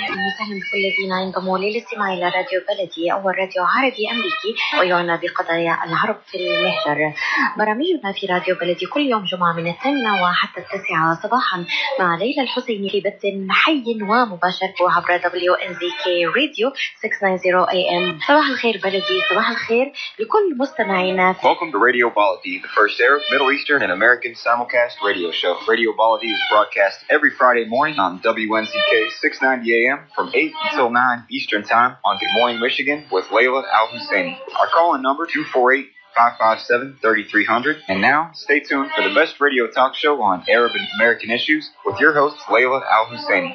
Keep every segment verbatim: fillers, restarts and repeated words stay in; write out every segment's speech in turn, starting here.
أهلا وسهلا بكل الذين ينضموا للاستماع إلى راديو بلدي، أول راديو عربي أمريكي ويعنى بقضايا العرب في المهجر. برامجنا في راديو بلدي كل يوم جمعة من الثامنة وحتى التاسعة صباحا مع ليلى الحسيني في بث حي ومباشر عبر دبليو إن زي كي راديو ستمائة وتسعين إيه إم. صباح الخير بلدي، صباح الخير لكل مستمعينا. Welcome to Radio Baladi, the first Arab, Middle Eastern, and American simulcast radio show. Radio Baladi is broadcast every Friday morning on W N Z K six ninety A M from eight until nine Eastern Time on Good Morning Michigan with Layla Al-Husseini. Our call-in number two four eight, five five seven, three three zero zero. And now, stay tuned for the best radio talk show on Arab and American issues with your host, Layla Al-Husseini.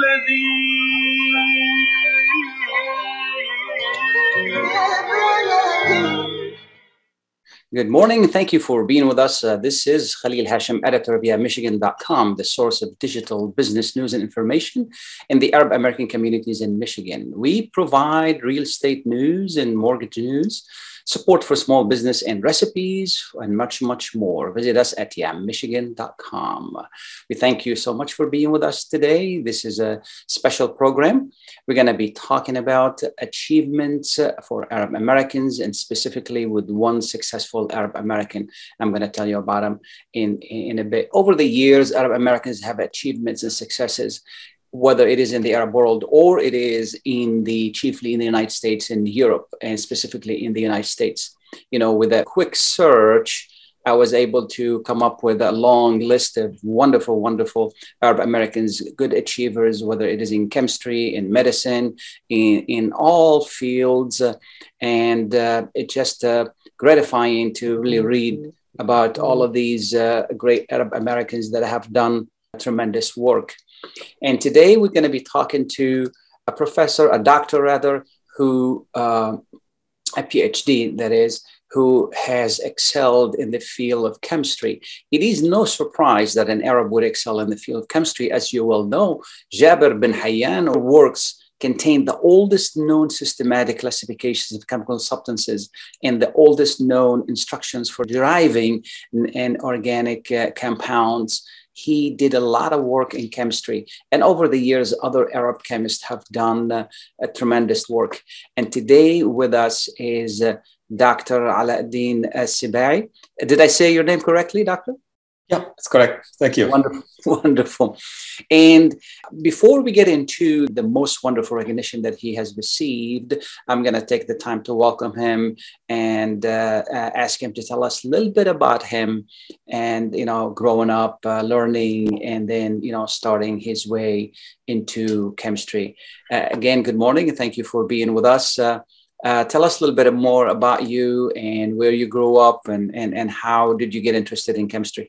Good morning. Thank you for being with us. Uh, this is Khalil Hashim, editor of yeah michigan dot com, the source of digital business news and information in the Arab American communities in Michigan. We provide real estate news and mortgage news, support for small business and recipes, and much, much more. Visit us at yeah michigan dot com. We thank you so much for being with us today. This is a special program. We're going to be talking about achievements for Arab Americans, and specifically with one successful Arab American. I'm going to tell you about him in, in a bit. Over the years, Arab Americans have achievements and successes, whether it is in the Arab world or it is in the chiefly in the United States and Europe, and specifically in the United States. You know, with a quick search, I was able to come up with a long list of wonderful, wonderful Arab Americans, good achievers, whether it is in chemistry, in medicine, in, in all fields. Uh, and uh, it's just uh, gratifying to really read about all of these uh, great Arab Americans that have done tremendous work. And today we're going to be talking to a professor, a doctor rather, who, uh, a PhD that is, who has excelled in the field of chemistry. It is no surprise that an Arab would excel in the field of chemistry. As you well know, Jabir bin Hayyan works contain the oldest known systematic classifications of chemical substances and the oldest known instructions for deriving an organic uh, compounds. He did a lot of work in chemistry, and over the years, other Arab chemists have done uh, a tremendous work. And today with us is uh, Doctor Alauddin Sibai. Did I say your name correctly, Doctor? Yeah, that's correct. Thank you. Wonderful, wonderful. And before we get into the most wonderful recognition that he has received, I'm going to take the time to welcome him and uh, uh, ask him to tell us a little bit about him and, you know, growing up, uh, learning, and then, you know, starting his way into chemistry. Uh, again, good morning, and thank you for being with us. Uh, uh, tell us a little bit more about you and where you grew up, and, and, and how did you get interested in chemistry?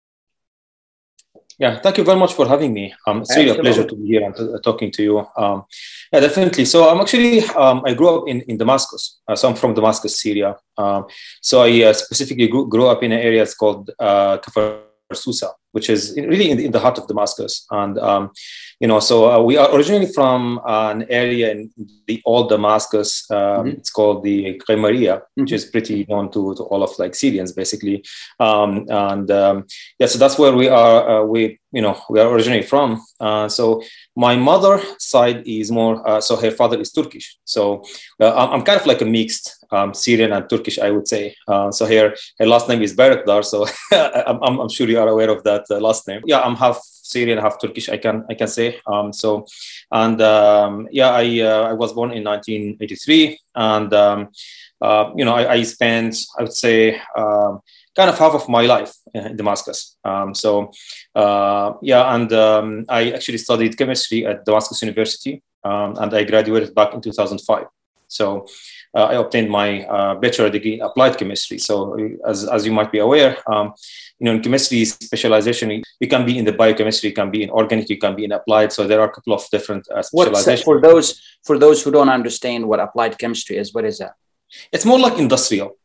Yeah, thank you very much for having me. Um, it's really a pleasure to be here and to, uh, talking to you. Um, yeah, definitely. So I'm actually, um, I grew up in, in Damascus. Uh, so I'm from Damascus, Syria. Um, so I uh, specifically grew, grew up in an area it's called uh, Kafar Susa, which is really in the, in the heart of Damascus. And, um, you know, so uh, we are originally from uh, an area in the old Damascus. Um, mm-hmm. It's called the Qimariya, mm-hmm. which is pretty known to, to all of like Syrians, basically. Um, and um, yeah, so that's where we are. Uh, we, you know, we are originally from. Uh, so my mother side is more, uh, so her father is Turkish. So uh, I'm, I'm kind of like a mixed um, Syrian and Turkish, I would say. Uh, so her, her last name is Bayraktar. So I'm, I'm sure you are aware of that uh, last name. Yeah, I'm half Syrian, half Turkish, I can I can say. Um, so, and um, yeah, I uh, I was born in nineteen eighty-three, and um, uh, you know, I, I spent, I would say, uh, kind of half of my life in Damascus. Um, so, uh, yeah, and um, I actually studied chemistry at Damascus University, um, and I graduated back in two thousand five. So uh, I obtained my uh, bachelor degree in applied chemistry. So as, as you might be aware, um, you know, in chemistry specialization, you can be in the biochemistry, you can be in organic, you can be in applied. So there are a couple of different uh, specializations. For those, for those who don't understand what applied chemistry is, what is that? It's more like industrial.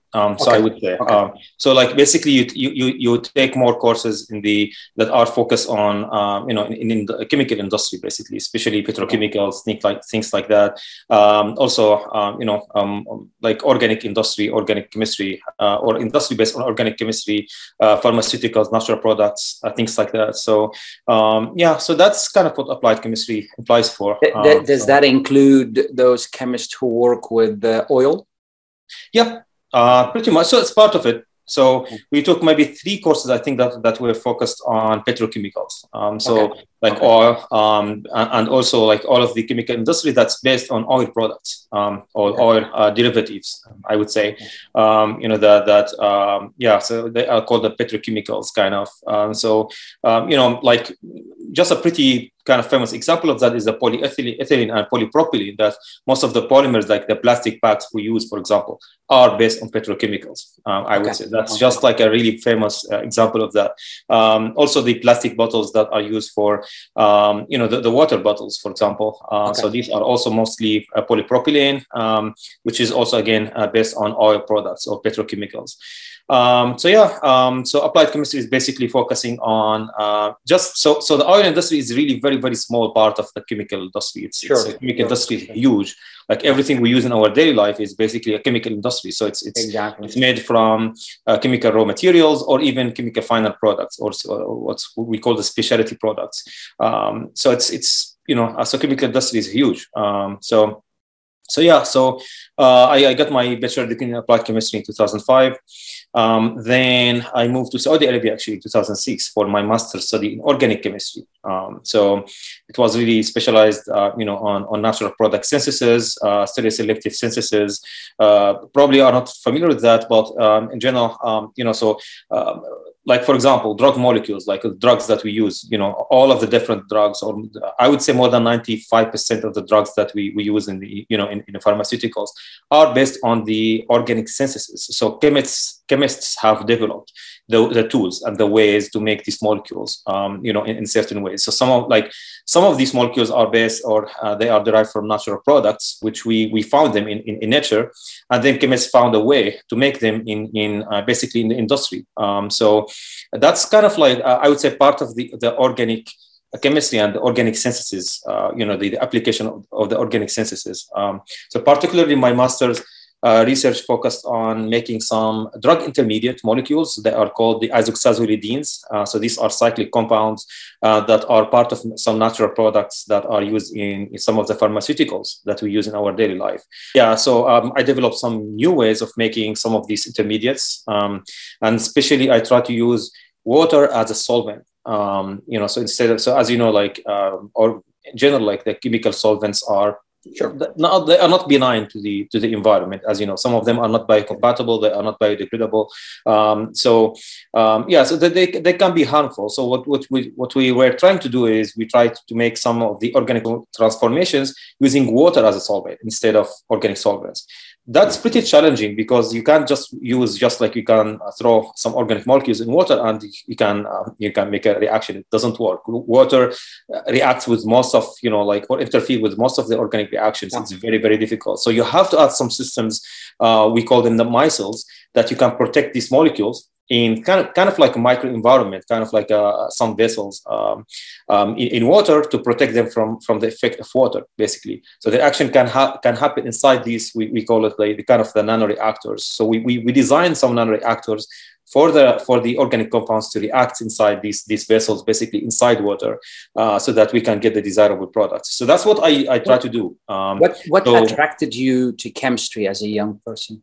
Um, so okay. I would say, okay. um, so like basically you, you you take more courses in the that are focused on um, you know in, in the chemical industry basically, especially petrochemicals, things like things like that. Um, also, um, you know, um, like organic industry, organic chemistry, uh, or industry based on organic chemistry, uh, pharmaceuticals, natural products, uh, things like that. So um, yeah, so that's kind of what applied chemistry implies for. Th- Um, does so. that include those chemists who work with uh, oil? Yeah. Uh, pretty much. So it's part of it. So we took maybe three courses, I think, that, that were focused on petrochemicals. Um, so okay. like okay. oil, um, and also like all of the chemical industry that's based on oil products um, or okay. oil uh, derivatives, I would say. Um, you know, that, that um, yeah, so they are called the petrochemicals kind of. Um, so, um, you know, like just a pretty kind of famous example of that is the polyethylene ethylene and polypropylene, that most of the polymers, like the plastic bags we use, for example, are based on petrochemicals. Um, I okay. would say that's okay. just like a really famous uh, example of that. Um, also, the plastic bottles that are used for, um, you know, the, the water bottles, for example. Uh, okay. So these are also mostly uh, polypropylene, um, which is also, again, uh, based on oil products or petrochemicals. Um, so yeah, um, so applied chemistry is basically focusing on uh, just so so the oil industry is really very very small part of the chemical industry. It's, sure. it's the chemical sure. industry is huge. Like everything we use in our daily life is basically a chemical industry. So it's it's exactly. it's made from uh, chemical raw materials or even chemical final products, or, or what's what we call the specialty products. Um, so it's it's you know so chemical industry is huge. Um, so. So yeah, so uh, I, I got my bachelor degree in applied chemistry in two thousand five. Um, then I moved to Saudi Arabia actually in two thousand six for my master's study in organic chemistry. Um, so it was really specialized, uh, you know, on, on natural product synthesis, uh, stereoselective synthesis. Uh, probably are not familiar with that, but um, in general, um, you know, so. Um, Like, for example, drug molecules, like drugs that we use, you know, all of the different drugs, or I would say more than ninety-five percent of the drugs that we, we use in the, you know, in, in the pharmaceuticals are based on the organic synthesis. So chemists, chemists have developed the, the tools and the ways to make these molecules, um, you know, in, in certain ways. So some of like some of these molecules are based or uh, they are derived from natural products, which we, we found them in, in, in nature. And then chemists found a way to make them in, in uh, basically in the industry. Um, so that's kind of like, uh, I would say, part of the, the organic chemistry and the organic synthesis, uh, you know, the, the application of, of the organic synthesis. Um, so particularly my master's uh, research focused on making some drug intermediate molecules that are called the isoxazolidines. Uh, so these are cyclic compounds uh, that are part of some natural products that are used in, in some of the pharmaceuticals that we use in our daily life. Yeah, so um, I developed some new ways of making some of these intermediates. Um, and especially I try to use water as a solvent. Um, you know, so instead of, so as you know, like, um, or in general, like the chemical solvents are Sure. Not, they are not benign to the to the environment, as you know. Some of them are not biocompatible; they are not biodegradable. Um, so, um, yeah, so they, they they can be harmful. So, what what we what we were trying to do is we tried to make some of the organic transformations using water as a solvent instead of organic solvents. That's pretty challenging because you can't just use just like you can throw some organic molecules in water and you can uh, you can make a reaction. It doesn't work. Water reacts with most of, you know, like, or interfere with most of the organic reactions. Yeah. It's very, very difficult. So you have to add some systems, uh, we call them the micelles, that you can protect these molecules in kind of kind of like a microenvironment, kind of like uh, some vessels um, um, in, in water to protect them from, from the effect of water, basically. So the action can ha- can happen inside these, we, we call it like the kind of the nanoreactors. So we, we, we designed some nanoreactors for the for the organic compounds to react inside these, these vessels, basically inside water, uh, so that we can get the desirable products. So that's what I, I try what, to do. Um, what what so, attracted you to chemistry as a young person?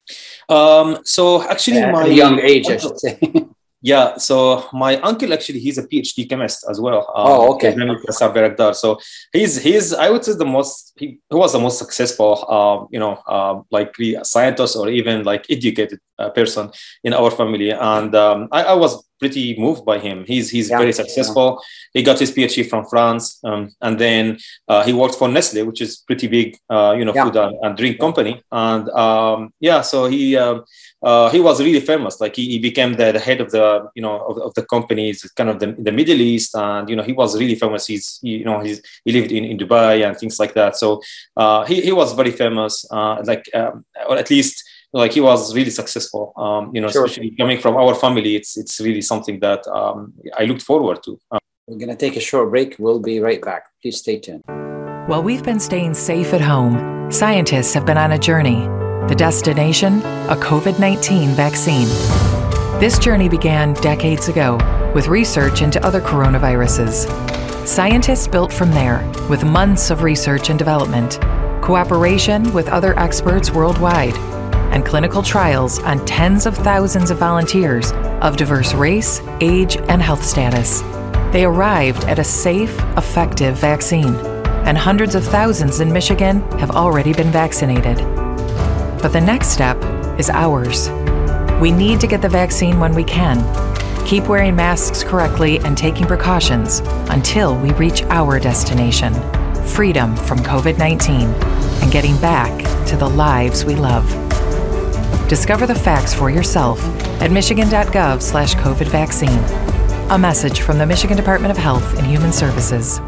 Um, so actually, uh, my at a young age, I should say. Yeah, so my uncle actually, he's a PhD chemist as well. Um, oh, okay. okay. So he's he's I would say the most he, he was the most successful, um, you know, uh, like scientist or even like educated uh, person in our family, and um, I, I was pretty moved by him. He's he's yeah, very successful. Yeah. He got his PhD from France, um, and then uh, he worked for Nestle, which is pretty big, uh, you know, yeah. food and, and drink company. And um, yeah, so he uh, uh, he was really famous. Like he, he became the, the head of the you know of, of the companies, kind of the, the Middle East, and you know he was really famous. He's he, you know he's he lived in, in Dubai and things like that. So uh, he he was very famous, uh, like um, or at least. like he was really successful. Um, you know, sure. Especially coming from our family, it's it's really something that um, I looked forward to. Um, We're going to take a short break. We'll be right back. Please stay tuned. While we've been staying safe at home, scientists have been on a journey. The destination, a COVID nineteen vaccine. This journey began decades ago with research into other coronaviruses. Scientists built from there with months of research and development, cooperation with other experts worldwide, and clinical trials on tens of thousands of volunteers of diverse race, age, and health status. They arrived at a safe, effective vaccine, and hundreds of thousands in Michigan have already been vaccinated. But the next step is ours. We need to get the vaccine when we can. Keep wearing masks correctly and taking precautions until we reach our destination, freedom from COVID nineteen, and getting back to the lives we love. Discover the facts for yourself at michigan.gov slash COVID vaccine. A message from the Michigan Department of Health and Human Services.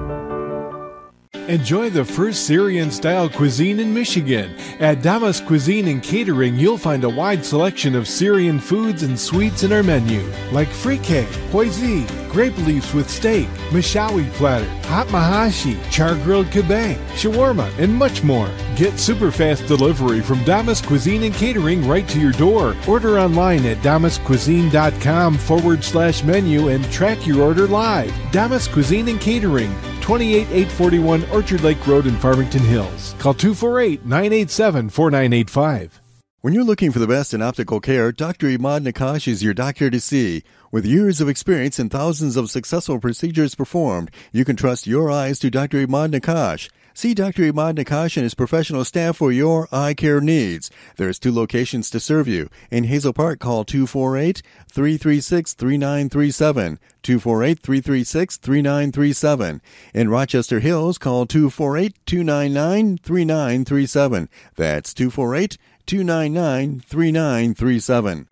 Enjoy the first Syrian-style cuisine in Michigan. At Damas Cuisine and Catering, you'll find a wide selection of Syrian foods and sweets in our menu, like frikeh, poisi, grape leaves with steak, mashawi platter, hot mahashi, char-grilled kebab, shawarma, and much more. Get super fast delivery from Damas Cuisine and Catering right to your door. Order online at damascuisine.com forward slash menu and track your order live. Damas Cuisine and Catering, twenty-eight eight forty-one Orchard Lake Road in Farmington Hills. Call two four eight, nine eight seven, four nine eight five. When you're looking for the best in optical care, Doctor Imad Nakash is your doctor to see. With years of experience and thousands of successful procedures performed, you can trust your eyes to Doctor Imad Nakash. See Doctor Imad Nakash and his professional staff for your eye care needs. There's two locations to serve you. In Hazel Park, call two four eight, three three six, three nine three seven, two four eight, three three six, three nine three seven. In Rochester Hills, call two four eight, two nine nine, three nine three seven. That's two four eight, two nine nine, three nine three seven.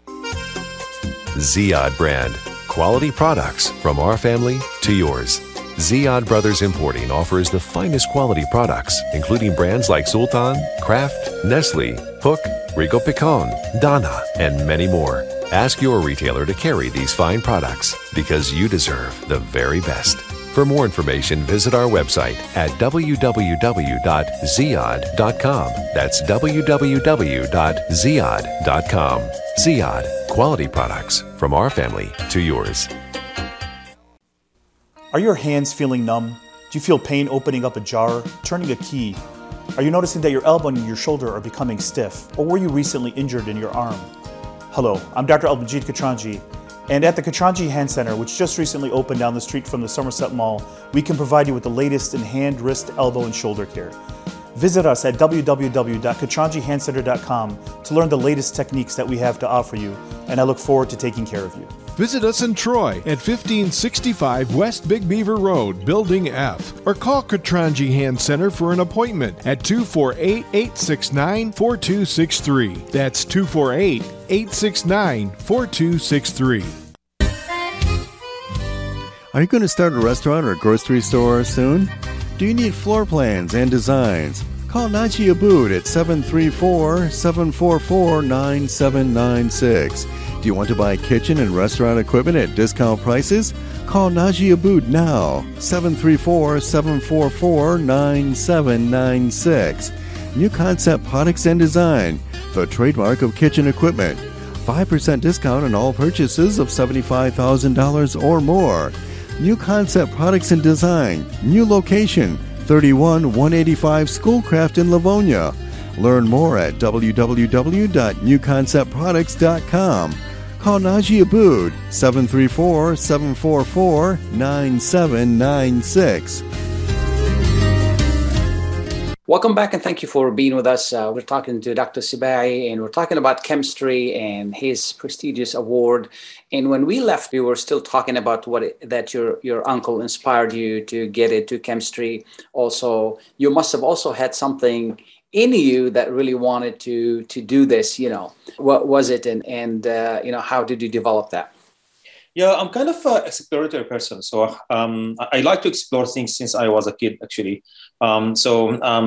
Ziyad brand. Quality products from our family to yours. Ziyad Brothers Importing offers the finest quality products, including brands like Sultan, Kraft, Nestle, Hook, Rico Picon, Dana, and many more. Ask your retailer to carry these fine products because you deserve the very best. For more information, visit our website at w w w dot ziyad dot com. That's w w w dot ziyad dot com. Ziyad, quality products from our family to yours. Are your hands feeling numb? Do you feel pain opening up a jar, turning a key? Are you noticing that your elbow and your shoulder are becoming stiff? Or were you recently injured in your arm? Hello, I'm Doctor Al-Majid Katranji, and at the Katranji Hand Center, which just recently opened down the street from the Somerset Mall, we can provide you with the latest in hand, wrist, elbow, and shoulder care. Visit us at w w w dot katranji hand center dot com to learn the latest techniques that we have to offer you, and I look forward to taking care of you. Visit us in Troy at fifteen sixty-five West Big Beaver Road, Building F, or call Katranji Hand Center for an appointment at two four eight, eight six nine, four two six three. That's two four eight, eight six nine, four two six three. Are you going to start a restaurant or grocery store soon? Do you need floor plans and designs? Call Naji Abood at seven three four, seven four four, nine seven nine six. Do you want to buy kitchen and restaurant equipment at discount prices? Call Naji Abood now, seven three four, seven four four, nine seven nine six. New Concept Products and Design, the trademark of kitchen equipment. five percent discount on all purchases of seventy-five thousand dollars or more. New Concept Products and Design, new location, thirty-one one eighty-five Schoolcraft in Livonia. Learn more at w w w dot new concept products dot com. Call Naji Abood, seven three four, seven four four, nine seven nine six. Welcome back, and thank you for being with us. Uh, we're talking to Doctor Sibai, and we're talking about chemistry and his prestigious award. And when we left, we were still talking about what it, that your your uncle inspired you to get into chemistry. Also, you must have also had something in you that really wanted to to do this. You know, what was it, and and uh, you know, how did you develop that? Yeah, I'm kind of an exploratory person. So um, I, I like to explore things since I was a kid, actually. Um, so um,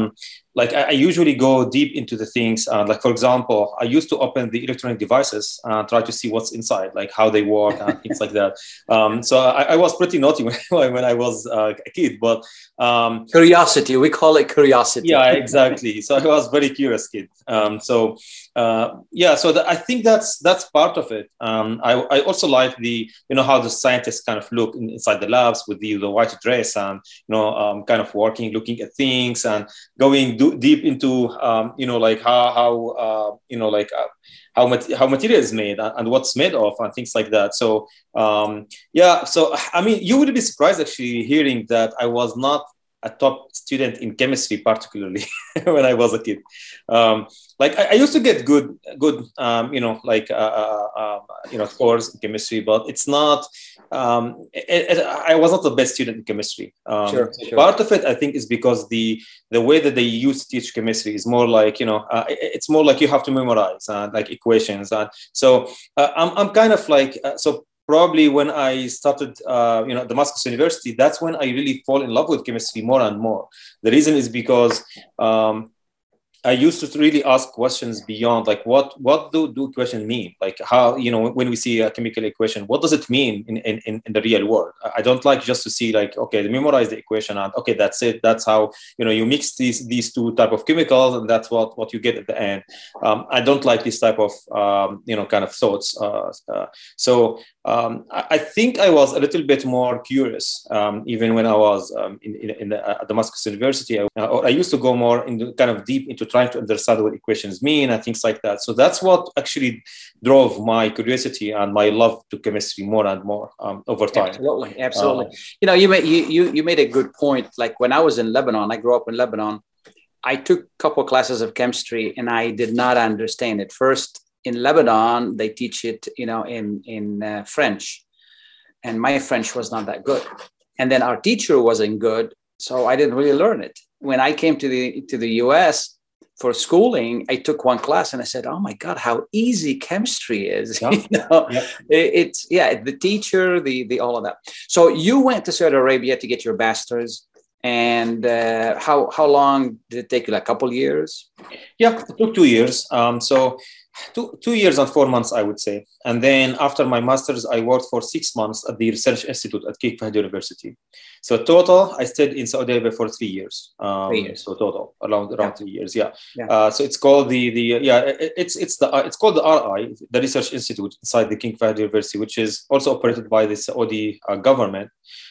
like I, I usually go deep into the things. Uh, like for example, I used to open the electronic devices and try to see what's inside, like how they work and things like that. Um, so I, I was pretty naughty when, when I was uh, a kid, but um, curiosity, we call it curiosity. Yeah, exactly. So I was a very curious kid. Um, so uh, yeah, so the, I think that's that's part of it. Um, I, I also like the you know how the scientists kind of look in, inside the labs with the, the white dress and you know um, kind of working, looking at things and going do, deep into um, you know like how how uh, you know like uh, how mat- how material is made and, and what's made of and things like that. So um, yeah, so I mean, you would be surprised actually hearing that I was not a top student in chemistry, particularly when I was a kid. Um, like I, I used to get good, good, um, you know, like uh, uh, uh, you know, scores in chemistry, but it's not. Um, it, it, I was not the best student in chemistry. Um, sure, so sure. Part of it, I think, is because the the way that they used to teach chemistry is more like you know, uh, it, it's more like you have to memorize uh, like equations, and so uh, I'm I'm kind of like uh, so. Probably when I started, uh, you know, Damascus University, that's when I really fall in love with chemistry more and more. The reason is because um, I used to really ask questions beyond, like, what what do, do equations mean? Like, how, you know, when we see a chemical equation, what does it mean in, in, in the real world? I don't like just to see, like, okay, memorize the equation and, okay, that's it. That's how, you know, you mix these these two type of chemicals and that's what, what you get at the end. Um, I don't like this type of, um, you know, kind of thoughts. Uh, uh, so um, I, I think I was a little bit more curious, um, even when I was um, in, in, in the, uh, Damascus University. I, uh, I used to go more into kind of deep into trying to understand what equations mean and things like that. So that's what actually drove my curiosity and my love to chemistry more and more um, over time. Absolutely, absolutely. Uh, you know, you made you, you you made a good point. Like when I was in Lebanon, I grew up in Lebanon. I took a couple of classes of chemistry and I did not understand it. First, in Lebanon, they teach it, you know, in in uh, French, and my French was not that good. And then our teacher wasn't good, so I didn't really learn it. When I came to the to the U S for schooling, I took one class and I said, "Oh my God, how easy chemistry is!" Yeah. you know, yeah. it, it's yeah, the teacher, the the all of that. So you went to Saudi Arabia to get your bachelor's, and uh, how how long did it take you? Like a couple years? Yeah, it took two years. Um, so two two years and four months, I would say. And then after my master's, I worked for six months at the Research Institute at King Fahd University. So total, I stayed in Saudi Arabia for three years. Um, Three years. So total, around around Yeah. three years. Yeah. Yeah. Uh, so it's called the the yeah it, it's it's the uh, it's called the R I, the Research Institute inside the King Fahd University, which is also operated by the Saudi uh, government.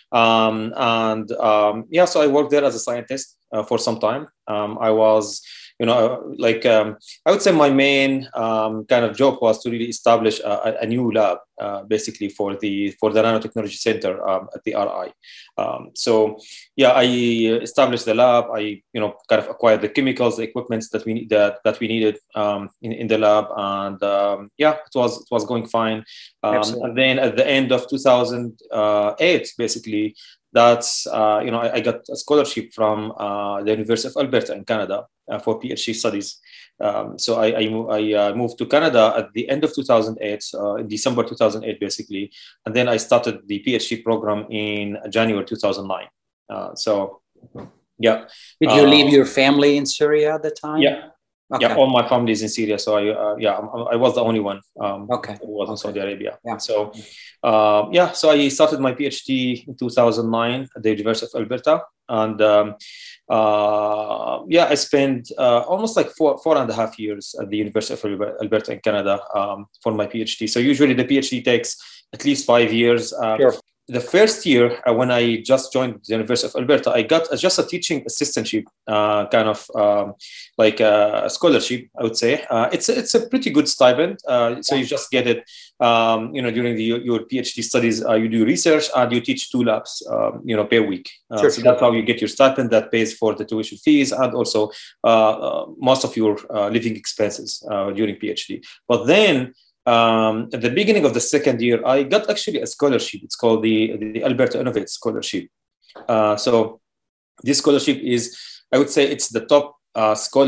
Um, and um, yeah, so I worked there as a scientist uh, for some time. Um, I was. You know, like um, I would say my main um, kind of job was to really establish a, a new lab, uh, basically for the for the Nanotechnology Center um, at the R I. Um, so yeah, I established the lab. I you know kind of acquired the chemicals, the equipment that we need that, that we needed um, in in the lab, and um, yeah, it was it was going fine. Um, and then at the end of two thousand eight, basically. That's, uh, you know, I, I got a scholarship from uh, the University of Alberta in Canada uh, for PhD studies. Um, so I, I, I uh, moved to Canada at the end of two thousand eight, uh, in December two thousand eight, basically. And then I started the PhD program in January two thousand nine. Uh, so, yeah. Did you uh, leave your family in Syria at the time? Yeah. Okay. Yeah, all my family is in Syria, so I uh, yeah I, I was the only one um, okay. who was in okay. Saudi Arabia. Yeah. So uh, yeah, so I started my PhD in two thousand nine at the University of Alberta, and um, uh, yeah, I spent uh, almost like four four and a half years at the University of Alberta in Canada um, for my PhD. So usually the PhD takes at least five years. Uh, sure. The first year, uh, when I just joined the University of Alberta, I got uh, just a teaching assistantship, uh, kind of um, like a scholarship, I would say. Uh, it's, a, it's a pretty good stipend. Uh, so you just get it, um, you know, during the, your PhD studies, uh, you do research and you teach two labs, um, you know, per week. Uh, sure, so sure. that's how you get your stipend that pays for the tuition fees and also uh, uh, most of your uh, living expenses uh, during PhD. But then, Um, at the beginning of the second year, I got actually a scholarship. It's called the, the Alberta Innovate Scholarship. Uh, so this scholarship is, I would say it's the top uh, scholarship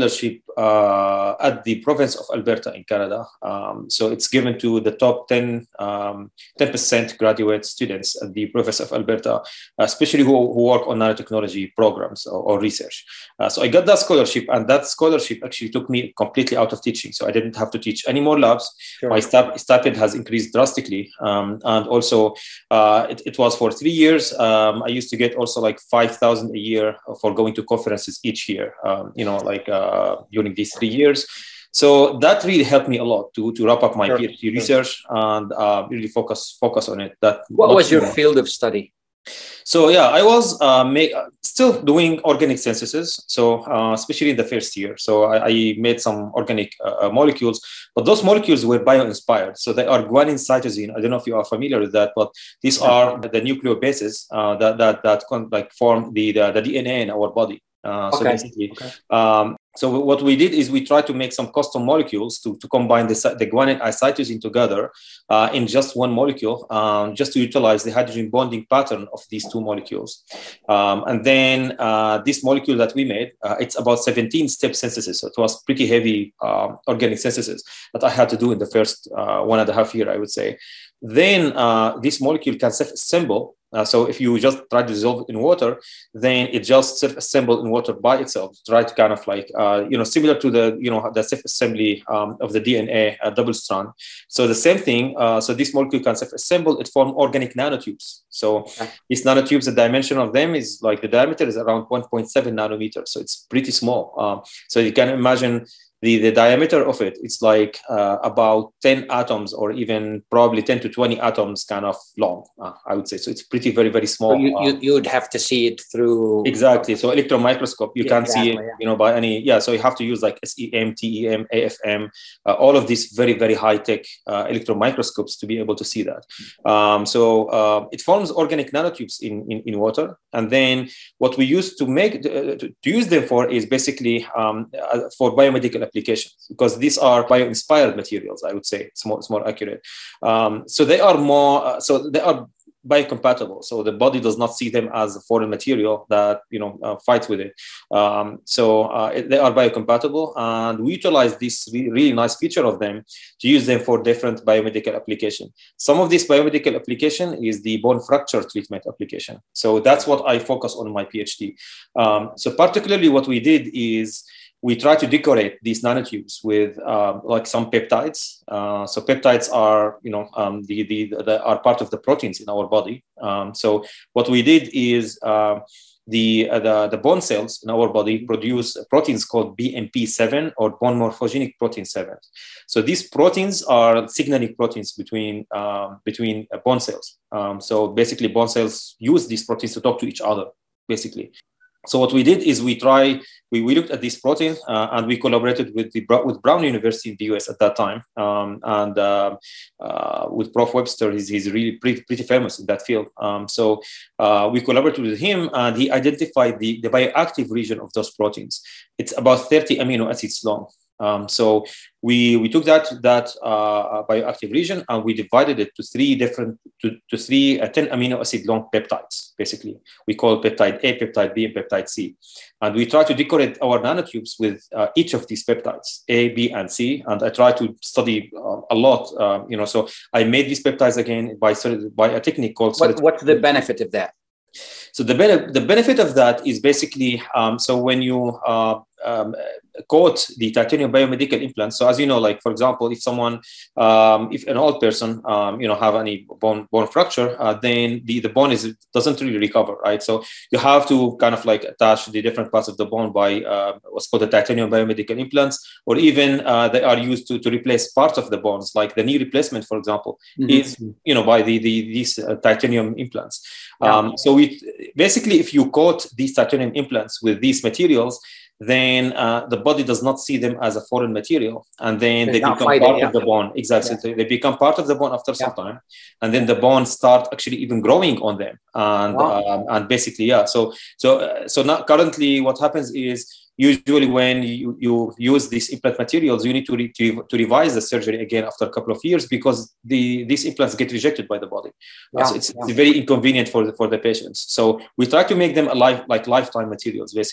uh, at the province of Alberta in Canada. Um, so it's given to the top ten, um, ten percent graduate students at the province of Alberta, especially who, who work on nanotechnology programs or, or research. Uh, so I got that scholarship, and that scholarship actually took me completely out of teaching. So I didn't have to teach any more labs. Sure. My stip- stipend has increased drastically. Um, and also uh, it, it was for three years. Um, I used to get also like five thousand a year for going to conferences each year, um, you know, like uh, during these three years. So that really helped me a lot to, to wrap up my sure. PhD research and uh, really focus focus on it. That What was your more. field of study? So yeah, I was uh, make, still doing organic synthesis, so uh, especially in the first year. So I, I made some organic uh, molecules, but those molecules were bio-inspired. So they are guanine cytosine. I don't know if you are familiar with that, but these are the nucleobases uh, that that that con- like form the, the the D N A in our body. Uh, so okay. basically, okay. Um, so what we did is we tried to make some custom molecules to, to combine the, the guanine and cytosine together uh, in just one molecule, um, just to utilize the hydrogen bonding pattern of these two molecules. Um, and then uh, this molecule that we made, uh, it's about seventeen step synthesis. So it was pretty heavy uh, organic synthesis that I had to do in the first uh, one and a half year, I would say. Then uh, this molecule can self-assemble. Uh, so if you just try to dissolve it in water, then it just self-assembles in water by itself. Try to kind of like, uh, you know, similar to the, you know, the self-assembly um, of the D N A uh, double strand. So the same thing. Uh, so this molecule can self-assemble. It forms organic nanotubes. So okay. these nanotubes, the dimension of them is like the diameter is around one point seven nanometers. So it's pretty small. Um, so you can imagine The, the diameter of it, it's like uh, about ten atoms or even probably ten to twenty atoms kind of long, uh, I would say. So it's pretty, very, very small. So you, you, you would have to see it through... Exactly. So electron microscope, you yeah, can't exactly, see it, yeah. you know, by any... Yeah, so you have to use like S E M, T E M, A F M, uh, all of these very, very high-tech uh, electron microscopes to be able to see that. Um, so uh, it forms organic nanotubes in, in, in water. And then what we use to make, uh, to, to use them for is basically um, uh, for biomedical applications, because these are bio-inspired materials, I would say. It's more, it's more accurate. Um, so they are more, uh, so they are biocompatible. So the body does not see them as a foreign material that, you know, uh, fights with it. Um, so uh, it, they are biocompatible, and we utilize this re- really nice feature of them to use them for different biomedical application. Some of this biomedical application is the bone fracture treatment application. So that's what I focus on in my PhD. Um, so particularly what we did is we try to decorate these nanotubes with um, like some peptides. Uh, so peptides are, you know, um, the, the, the are part of the proteins in our body. Um, so what we did is uh, the, uh, the the bone cells in our body produce proteins called B M P seven or bone morphogenic protein seven. So these proteins are signaling proteins between um, between uh, bone cells. Um, so basically, bone cells use these proteins to talk to each other, basically. So what we did is we try, we, we looked at this protein uh, and we collaborated with the with Brown University in the U S at that time. Um, and uh, uh, with Professor Webster, he's, he's really pretty, pretty famous in that field. Um, so uh, we collaborated with him, and he identified the, the bioactive region of those proteins. It's about thirty amino acids long. Um, so we we took that that uh, bioactive region and we divided it to three different to, to three uh, ten amino acid long peptides. Basically, we call peptide A, peptide B, and peptide C, and we try to decorate our nanotubes with uh, each of these peptides A, B, and C. And I try to study uh, a lot. Uh, you know, so I made these peptides again by by a technique called. What, what's the benefit of that? So the, be- the benefit of that is basically, um, so when you uh, um, coat the titanium biomedical implants, so as you know, like, for example, if someone, um, if an old person, um, you know, have any bone bone fracture, uh, then the, the bone is doesn't really recover, right? So you have to kind of like attach the different parts of the bone by uh, what's called the titanium biomedical implants, or even uh, they are used to, to replace parts of the bones, like the knee replacement, for example, mm-hmm. is, you know, by the, the these uh, titanium implants. Yeah. Um, so we basically, if you coat these titanium implants with these materials, then uh, the body does not see them as a foreign material, and then They're they become fighting, part yeah. of the bone. Exactly, yeah. They become part of the bone after some yeah. time, and then the bone start actually even growing on them, and wow. um, and basically, yeah. So so uh, so now currently, what happens is, usually when you, you use these implant materials, you need to, re, to, to revise the surgery again after a couple of years, because the these implants get rejected by the body. Yeah, so it's, yeah. it's very inconvenient for the, for the patients. So we try to make them alive, like lifetime materials, basically.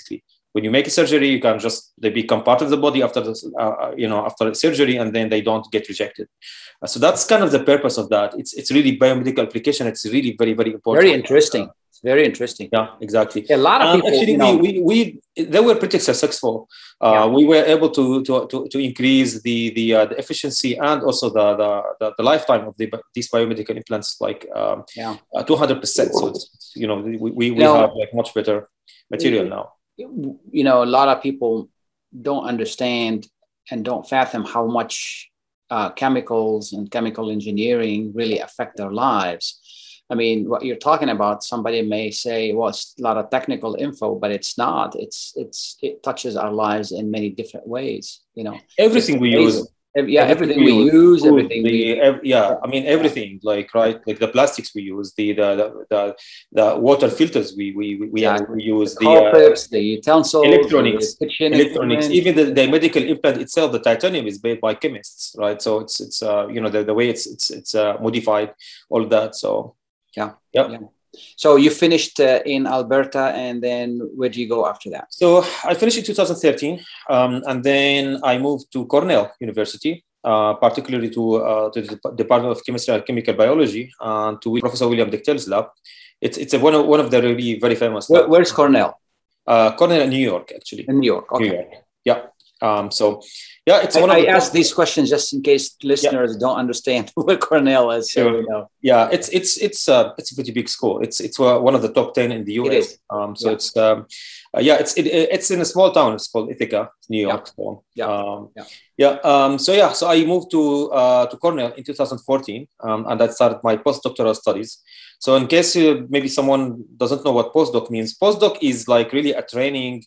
When you make a surgery, you can just, they become part of the body after the, uh, you know, after surgery, and then they don't get rejected. Uh, so that's kind of the purpose of that. It's it's really biomedical application. It's really very, very important. Very interesting. Uh, it's very interesting. Yeah, exactly. Yeah, a lot of um, people, actually, you know, we, we, we, they were pretty successful. Uh, yeah. We were able to, to, to, to increase the, the, uh, the efficiency and also the, the, the, the lifetime of the, these biomedical implants, like um, yeah. uh, two hundred percent. So, it's, you know, we, we, we now, have like much better material now. You know, a lot of people don't understand and don't fathom how much uh, chemicals and chemical engineering really affect their lives. I mean, what you're talking about, somebody may say, well, it's a lot of technical info, but it's not. It's, it's, it touches our lives in many different ways, you know. Everything we use. Yeah, everything, everything we, we use, food, everything. The, we, ev- yeah, I mean everything. Yeah. Like right, like the plastics we use, the the the, the, the water filters we we we, yeah. we use, the, the clips, uh, the utensils, electronics, the kitchen electronics. Even the, the medical implant itself, the titanium is made by chemists, right? So it's it's uh, you know the, the way it's it's it's uh, modified, all that. So yeah, yep. yeah. So you finished uh, in Alberta, and then where do you go after that? So I finished in two thousand thirteen, um, and then I moved to Cornell University, uh, particularly to, uh, to the Department of Chemistry and Chemical Biology, and to Professor William Dichtel's lab. It's it's a, one of one of the really very famous. Where, where's Cornell? Uh, Cornell in New York, actually. In New York, okay. New York. Yeah. Um, so, yeah, it's I, one of I the asked these questions just in case listeners yeah. don't understand what Cornell is. So, sure. you know. Yeah, it's it's it's uh, it's a pretty big school. It's it's one of the top ten in the U S. It is. Um, so yeah. it's um, uh, yeah, it's it, it's in a small town. It's called Ithaca, New York. Yeah. So, yeah. Um, yeah. Yeah. Um, so yeah, so I moved to uh, to Cornell in two thousand fourteen, um, and I started my postdoctoral studies. So in case uh, maybe someone doesn't know what postdoc means, postdoc is like really a training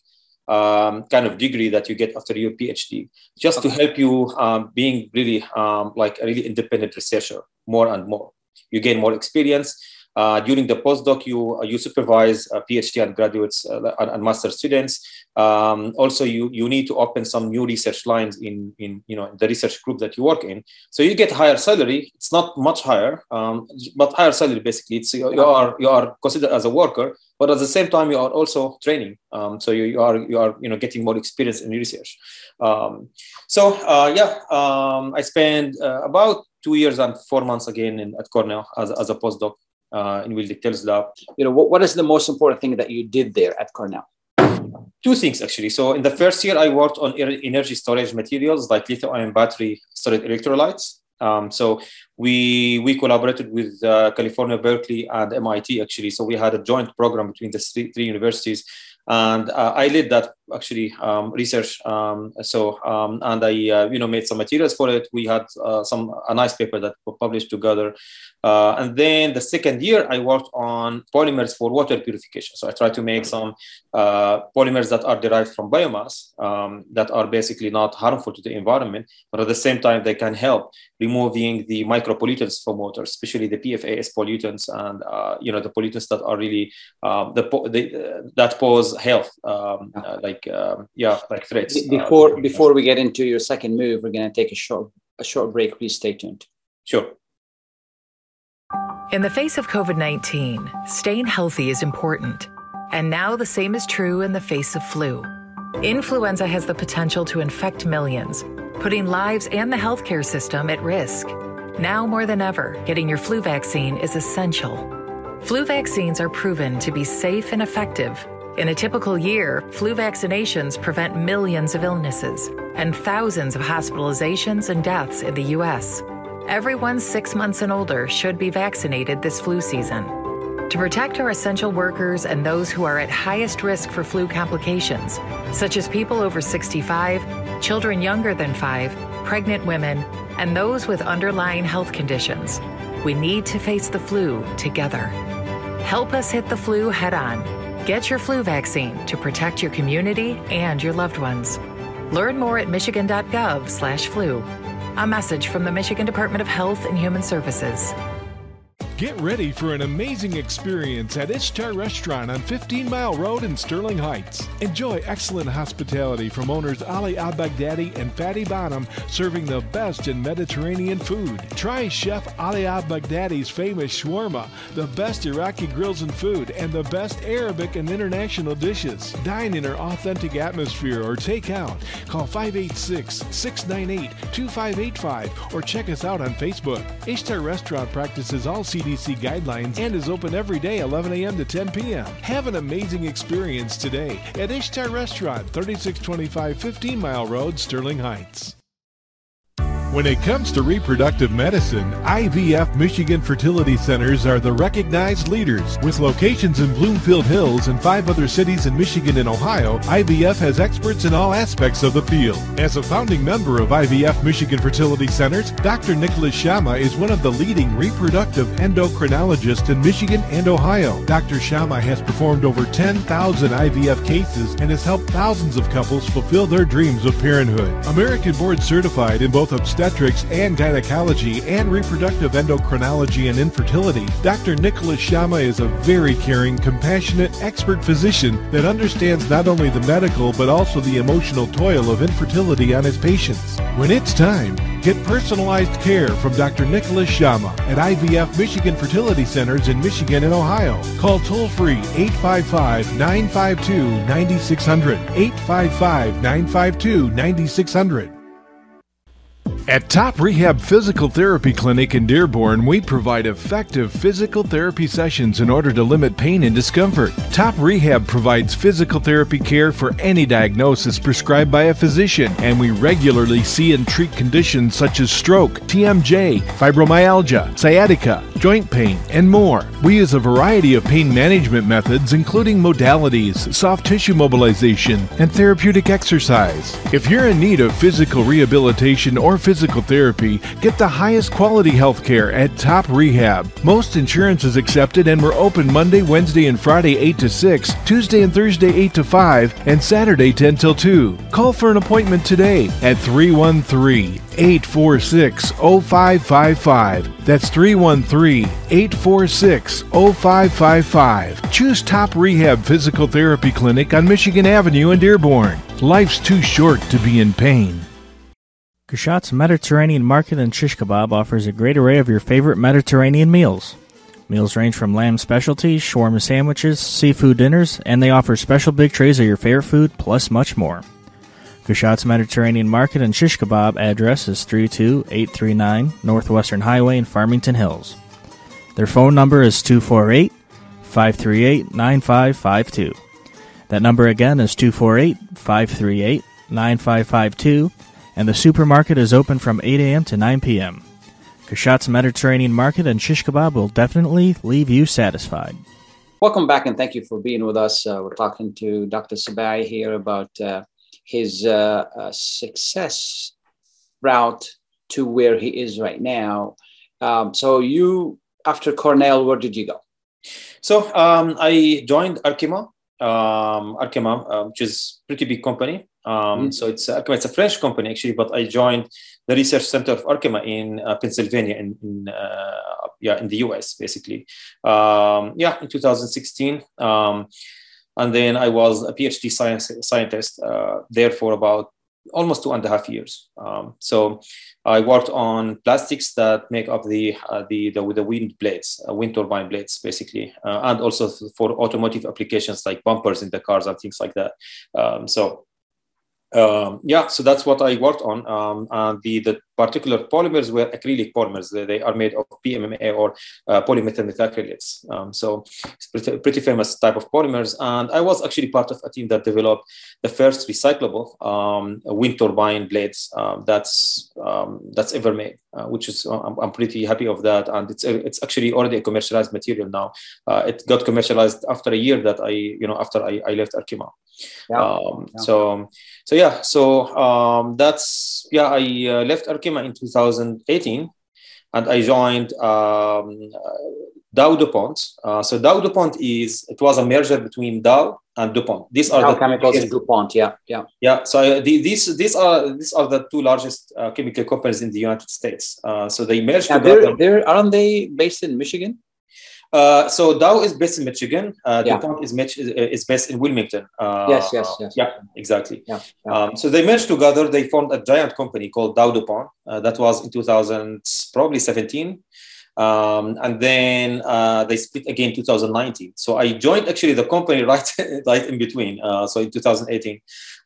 um, kind of degree that you get after your PhD, just okay. to help you um, being really um, like a really independent researcher more and more. You gain more experience. Uh, during the postdoc, you uh, you supervise uh, PhD and graduates uh, and, and master students. Um, also, you you need to open some new research lines in in you know the research group that you work in. So you get higher salary. It's not much higher, um, but higher salary basically. It's you, you are you are considered as a worker, but at the same time you are also training. Um, so you, you are you are you know getting more experience in research. Um, so uh, yeah, um, I spent uh, about two years and four months again in, at Cornell as as a postdoc. Uh, in Will Dichtel's lab. You know, what, what is the most important thing that you did there at Cornell? Two things, actually. So in the first year, I worked on energy storage materials like lithium-ion battery storage electrolytes. Um, so we we collaborated with uh, California, Berkeley, and M I T, actually. So we had a joint program between the three, three universities. And uh, I led that actually um, research. Um, so um, and I uh, you know made some materials for it. We had uh, some a nice paper that we published together. Uh, and then the second year, I worked on polymers for water purification. So I tried to make some uh, polymers that are derived from biomass um, that are basically not harmful to the environment, but at the same time they can help removing the micropollutants from water, especially the P F A S pollutants and uh, you know the pollutants that are really um, the, the uh, that pose health um, uh, like um, yeah like threats. Before uh, before we get into your second move, we're going to take a short a short break. Please stay tuned. Sure. In the face of COVID nineteen, staying healthy is important. And now the same is true in the face of flu. Influenza has the potential to infect millions, putting lives and the healthcare system at risk. Now more than ever, getting your flu vaccine is essential. Flu vaccines are proven to be safe and effective. In a typical year, flu vaccinations prevent millions of illnesses and thousands of hospitalizations and deaths in the U S. Everyone six months and older should be vaccinated this flu season. To protect our essential workers and those who are at highest risk for flu complications, such as people over sixty-five, children younger than five, pregnant women, and those with underlying health conditions, we need to face the flu together. Help us hit the flu head on. Get your flu vaccine to protect your community and your loved ones. Learn more at michigan.gov slash flu. A message from the Michigan Department of Health and Human Services. Get ready for an amazing experience at Ishtar Restaurant on fifteen Mile Road in Sterling Heights. Enjoy excellent hospitality from owners Ali Al-Baghdadi and Fatty Bonham, serving the best in Mediterranean food. Try Chef Ali Al-Baghdadi's famous shawarma, the best Iraqi grills and food, and the best Arabic and international dishes. Dine in our authentic atmosphere or take out. Call five eight six, six nine eight, two five eight five or check us out on Facebook. Ishtar Restaurant practices all C D C guidelines and is open every day eleven a.m. to ten p.m. Have an amazing experience today at Ishtar Restaurant, thirty-six twenty-five fifteen Mile Road, Sterling Heights. When it comes to reproductive medicine, I V F Michigan Fertility Centers are the recognized leaders. With locations in Bloomfield Hills and five other cities in Michigan and Ohio, I V F has experts in all aspects of the field. As a founding member of I V F Michigan Fertility Centers, Doctor Nicholas Shama is one of the leading reproductive endocrinologists in Michigan and Ohio. Doctor Shama has performed over ten thousand I V F cases and has helped thousands of couples fulfill their dreams of parenthood. American board certified in both obstetrics and gynecology and reproductive endocrinology and infertility, Doctor Nicholas Shama is a very caring, compassionate, expert physician that understands not only the medical but also the emotional toil of infertility on his patients. When it's time, get personalized care from Doctor Nicholas Shama at I V F Michigan Fertility Centers in Michigan and Ohio. Call toll-free eight five five, nine five two, nine six zero zero, eight five five, nine five two, nine six zero zero. At Top Rehab Physical Therapy Clinic in Dearborn, we provide effective physical therapy sessions in order to limit pain and discomfort. Top Rehab provides physical therapy care for any diagnosis prescribed by a physician, and we regularly see and treat conditions such as stroke, T M J, fibromyalgia, sciatica, joint pain, and more. We use a variety of pain management methods, including modalities, soft tissue mobilization, and therapeutic exercise. If you're in need of physical rehabilitation or physical therapy, get the highest quality health care at Top Rehab. Most insurance is accepted, and we're open Monday, Wednesday, and Friday eight to six, Tuesday and Thursday eight to five, and Saturday ten till two. Call for an appointment today at three one three, eight four six, zero five five five. That's three one three, eight four six, zero five five five. Choose Top Rehab Physical Therapy Clinic on Michigan Avenue in Dearborn. Life's too short to be in pain. Kushat's Mediterranean Market and Shish Kebab offers a great array of your favorite Mediterranean meals. Meals range from lamb specialties, shawarma sandwiches, seafood dinners, and they offer special big trays of your favorite food, plus much more. Kushat's Mediterranean Market and Shish Kebab address is three two eight three nine Northwestern Highway in Farmington Hills. Their phone number is two four eight, five three eight, nine five five two. That number again is two four eight, five three eight, nine five five two, and the supermarket is open from eight a.m. to nine p.m. Kushat's Mediterranean Market and Shish Kebab will definitely leave you satisfied. Welcome back, and thank you for being with us. Uh, we're talking to Doctor Sabai here about uh, his uh, uh, success route to where he is right now. Um, so you, after Cornell, where did you go? So um, I joined Arkema, um, Arkema, uh, which is a pretty big company. Um, mm-hmm. So it's Arkema, it's a French company actually, but I joined the research center of Arkema in uh, Pennsylvania, in, in uh, yeah, in the U S basically. Um, yeah, in two thousand sixteen, um, and then I was a PhD science scientist uh, there for about almost two and a half years. Um, so I worked on plastics that make up the uh, the, the the wind blades, uh, wind turbine blades, basically, uh, and also for automotive applications like bumpers in the cars and things like that. Um, so. Um, yeah, so that's what I worked on. Um, and the, the particular polymers were acrylic polymers. They, they are made of P M M A or uh, polymethyl methacrylates. Um, so it's pretty, pretty famous type of polymers. And I was actually part of a team that developed the first recyclable um, wind turbine blades um, that's um, that's ever made, uh, which is I'm, I'm pretty happy of that. And it's it's actually already a commercialized material now. Uh, it got commercialized after a year that I you know after I, I left Arkema. Yeah. Um, yeah. So so yeah so um, that's yeah I uh, left Arkema in two thousand eighteen, and I joined um, uh, Dow DuPont. Uh, so Dow DuPont is, it was a merger between Dow and DuPont. These are Dow the Chemicals and DuPont, yeah, yeah. Yeah, so uh, the, these these are these are the two largest uh, chemical companies in the United States. Uh, so they merged Now together. they're, they're, aren't they based in Michigan? Uh, so Dow is based in Michigan. Uh, Yeah. DuPont is, Mich- is based in Wilmington. Uh, Yes, yes, yes. Yeah, exactly. Yeah, yeah. Um, so they merged together. They formed a giant company called Dow DuPont. Uh, that was in two thousand, probably seventeen. Um, and then uh, they split again in two thousand nineteen. So I joined actually the company right, right in between. Uh, so in two thousand eighteen,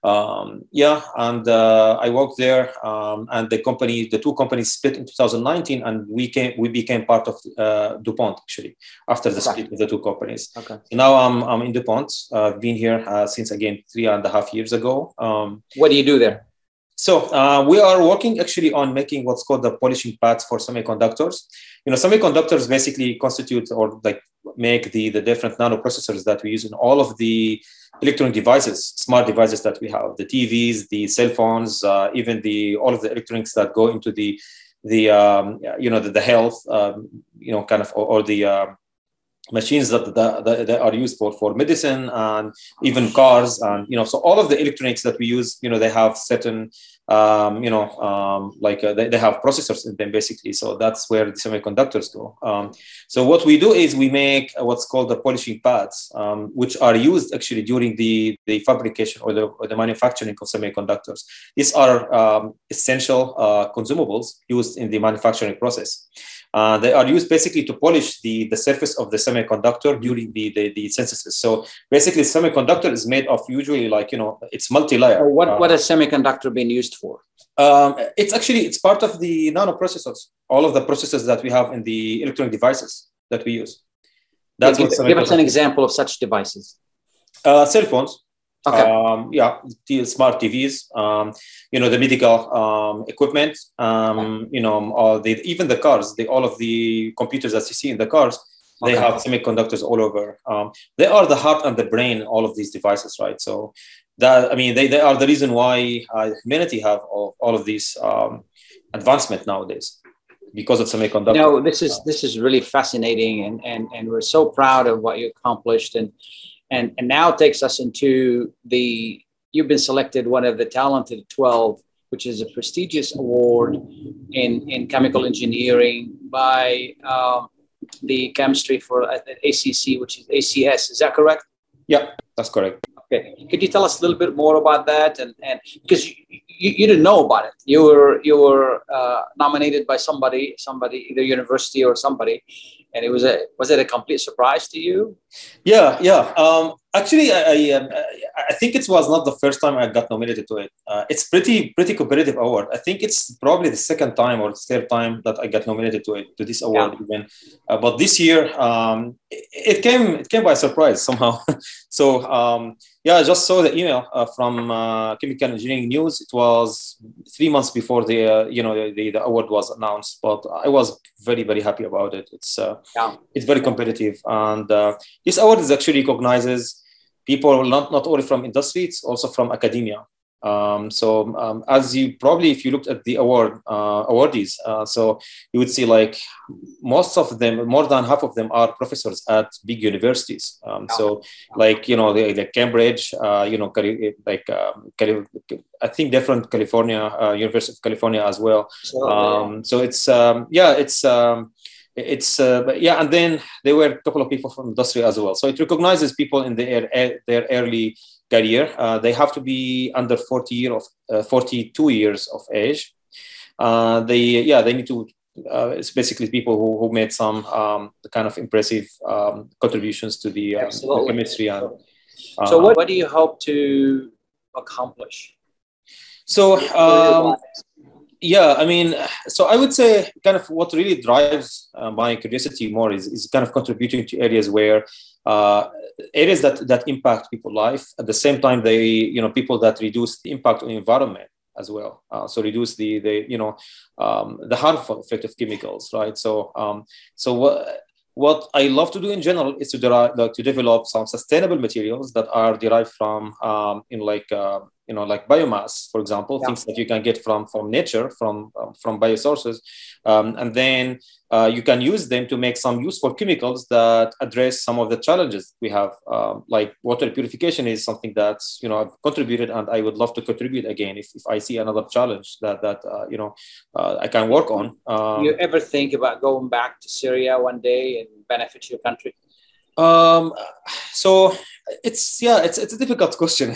um, yeah, and uh, I worked there. Um, and the company, the two companies split in two thousand nineteen, and we came, we became part of uh, DuPont actually after the split of the two companies. Okay. So now I'm I'm in DuPont. Uh, I've been here uh, since again three and a half years ago. Um, What do you do there? So uh, we are working actually on making what's called the polishing pads for semiconductors. You know, semiconductors basically constitute or like make the, the different nanoprocessors that we use in all of the electronic devices, smart devices that we have, the T Vs, the cell phones, uh, even the all of the electronics that go into the the um, you know the, the health, um, you know, kind of or, or the uh, machines that, that, that, that are used for, for medicine and even cars. And, you know, so all of the electronics that we use, you know, they have certain, um, you know, um, like uh, they, they have processors in them basically. So that's where the semiconductors go. Um, so what we do is we make what's called the polishing pads, um, which are used actually during the, the fabrication or the, or the manufacturing of semiconductors. These are um, essential uh, consumables used in the manufacturing process. Uh, they are used basically to polish the, the surface of the semiconductor during the, the, the synthesis. So basically, semiconductor is made of usually like, you know, it's multi-layer. What, uh, what is semiconductor being used for? Um, it's actually, it's part of the nanoprocessors, all of the processors that we have in the electronic devices that we use. That's give, what give us an example of such devices. Uh, cell phones. Okay. Um, yeah, the smart T Vs, um, you know, the medical um, equipment, um, you know, all the, even the cars, the, all of the computers that you see in the cars, they Okay. have semiconductors all over. Um, they are the heart and the brain, all of these devices, right? So that, I mean, they, they are the reason why uh, humanity have all, all of these um, advancement nowadays because of semiconductors. You know, this is, this is really fascinating, and, and, and we're so proud of what you accomplished. And And, and now takes us into the, you've been selected one of the Talented twelve, which is a prestigious award in, in chemical engineering by um, the chemistry for A C C, which is A C S. Is that correct? Yeah, that's correct. Okay. Could you tell us a little bit more about that? And, and because you, you, you didn't know about it. You were, you were uh, nominated by somebody, somebody, either university or somebody. And it was a, was it a complete surprise to you? Yeah, yeah. Um, actually, I, I, um, I think it was not the first time I got nominated to it. Uh, it's pretty, pretty competitive award. I think it's probably the second time or third time that I got nominated to it, to this award yeah. even. Uh, but this year, um, it, it came, it came by surprise somehow. so um, yeah, I just saw the email uh, from uh, Chemical Engineering News. It was three months before the, uh, you know, the, the award was announced. But I was very, very happy about it. It's, uh, yeah. it's very competitive, and uh, this award is actually recognizes people not, not only from industry, it's also from academia. Um, so um, as you probably, if you looked at the award uh, awardees, uh, so you would see like most of them, more than half of them are professors at big universities. Um, so like, you know, they, like Cambridge, uh, you know, like um, I think different California, uh, University of California as well. Um, so it's, um, yeah, it's, um, It's uh, but yeah, and then there were a couple of people from industry as well. So it recognizes people in their their early career. Uh, they have to be under forty year of uh, forty-two years of age. Uh, they yeah they need to. Uh, it's basically people who, who made some um, kind of impressive um, contributions to the, uh, the chemistry. And, uh, so what, what do you hope to accomplish? So. Um, Yeah, I mean, so I would say kind of what really drives uh, my curiosity more is, is kind of contributing to areas where uh, areas that, that impact people's life. At the same time, they, you know, people that reduce the impact on the environment as well. Uh, so reduce the, the you know, um, the harmful effect of chemicals, right? So, um, so what, what I love to do in general is to derive, like, to develop some sustainable materials that are derived from, um, in like, uh, you know, like biomass, for example, Yeah. things that you can get from from nature, from um, from biosources, um, and then uh, you can use them to make some useful chemicals that address some of the challenges we have. Um, like water purification is something that's, you know, I've contributed, and I would love to contribute again if, if I see another challenge that that uh, you know uh, I can work on. Um, you ever think about going back to Syria one day and benefit your country? Um, so it's, yeah, it's, it's a difficult question.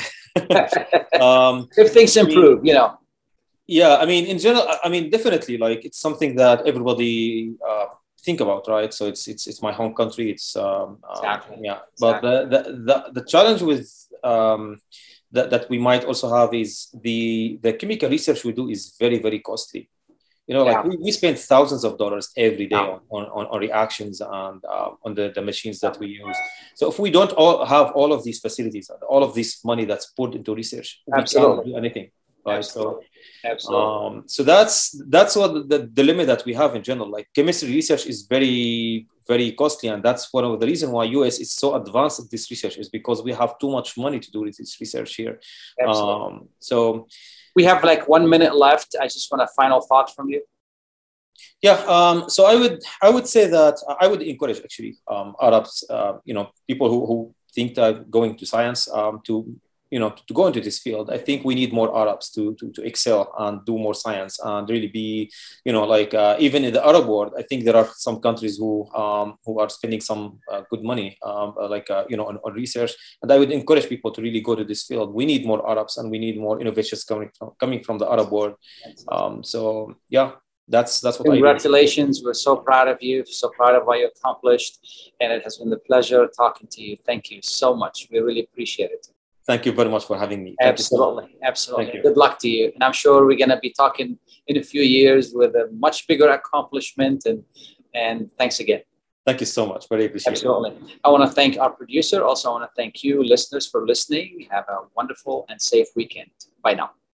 um, if things improve, I mean, you know. Yeah. I mean, in general, I mean, definitely like it's something that everybody, uh, think about, right? So it's, it's, it's my home country. It's, um, exactly. uh, yeah, but exactly. the, the, the, the challenge with, um, that, that we might also have is the, the chemical research we do is very, very costly. You know, like yeah. we, we spend thousands of dollars every day yeah. on, on, on reactions and uh, on the, the machines that we use. So if we don't all have all of these facilities, all of this money that's put into research, we Absolutely. can't do anything. Right? Absolutely. So, Absolutely. Um, so that's that's what the, the dilemma that we have in general. Like chemistry research is very, very costly, and that's one of the reasons why U S is so advanced at this research is because we have too much money to do this research here. Absolutely. Um, so. We have like one minute left. I just want a final thought from you. Yeah, um, so I would I would say that I would encourage actually um, Arabs, uh, you know, people who, who think that going to science um, to you know to go into this field. I think we need more Arabs to to, to excel and do more science and really be, you know, like uh, even in the Arab world, I think there are some countries who um, who are spending some uh, good money, um, like uh, you know, on, on research. And I would encourage people to really go to this field. We need more Arabs and we need more innovations coming from coming from the Arab world. Um, so yeah. That's that's what Congratulations. I do. We're so proud of you, so proud of what you accomplished. And it has been a pleasure talking to you. Thank you so much. We really appreciate it. Thank you very much for having me. Thank absolutely. You. Absolutely. Good luck to you. And I'm sure we're going to be talking in a few years with a much bigger accomplishment. And, and thanks again. Thank you so much. Very appreciate absolutely. it. Absolutely. I want to thank our producer. Also, I want to thank you, listeners, for listening. Have a wonderful and safe weekend. Bye now.